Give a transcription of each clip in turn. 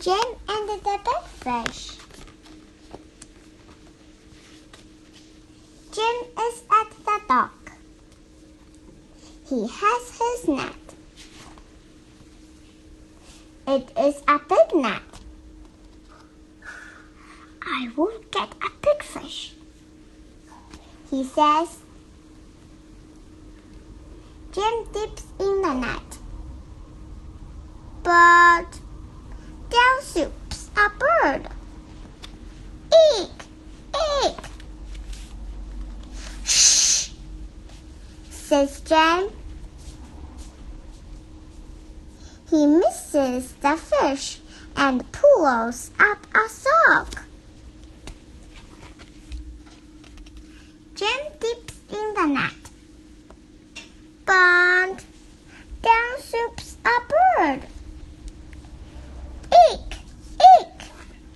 Jim and the big fish. Jim is at the dock. He has his net. It is a big net. I will get a big fish, he says. Jim dips in the net. But down swoops a bird. Eek! Eek! Shh! Says Jim. He misses the fish and pulls up a sock. Jim dips in the net. But down swoops a bird. Eek! Eek!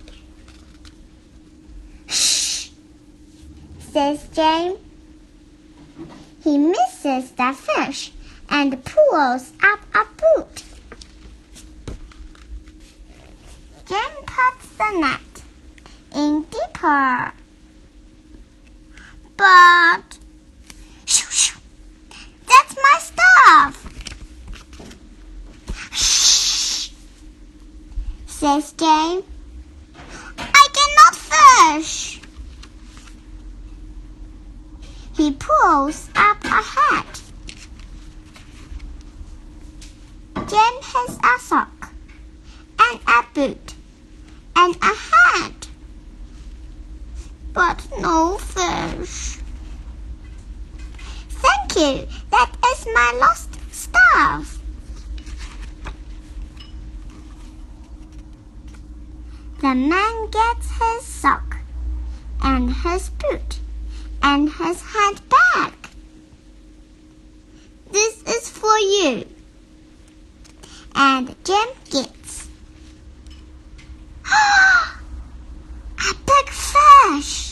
Shh! Says Jim. He misses the fish and pulls up a boot. Jim puts the net in deeper. But shoo shoo! That's my stuff! Shh! Says Jim. I cannot fish! He pulls up a hat. Jim has a sock and a boot and a hat, but no fish. Thank you, that is my lost stuff. The man gets his sock and his boot and his hat back. This is for you. And Jim gets a big fish.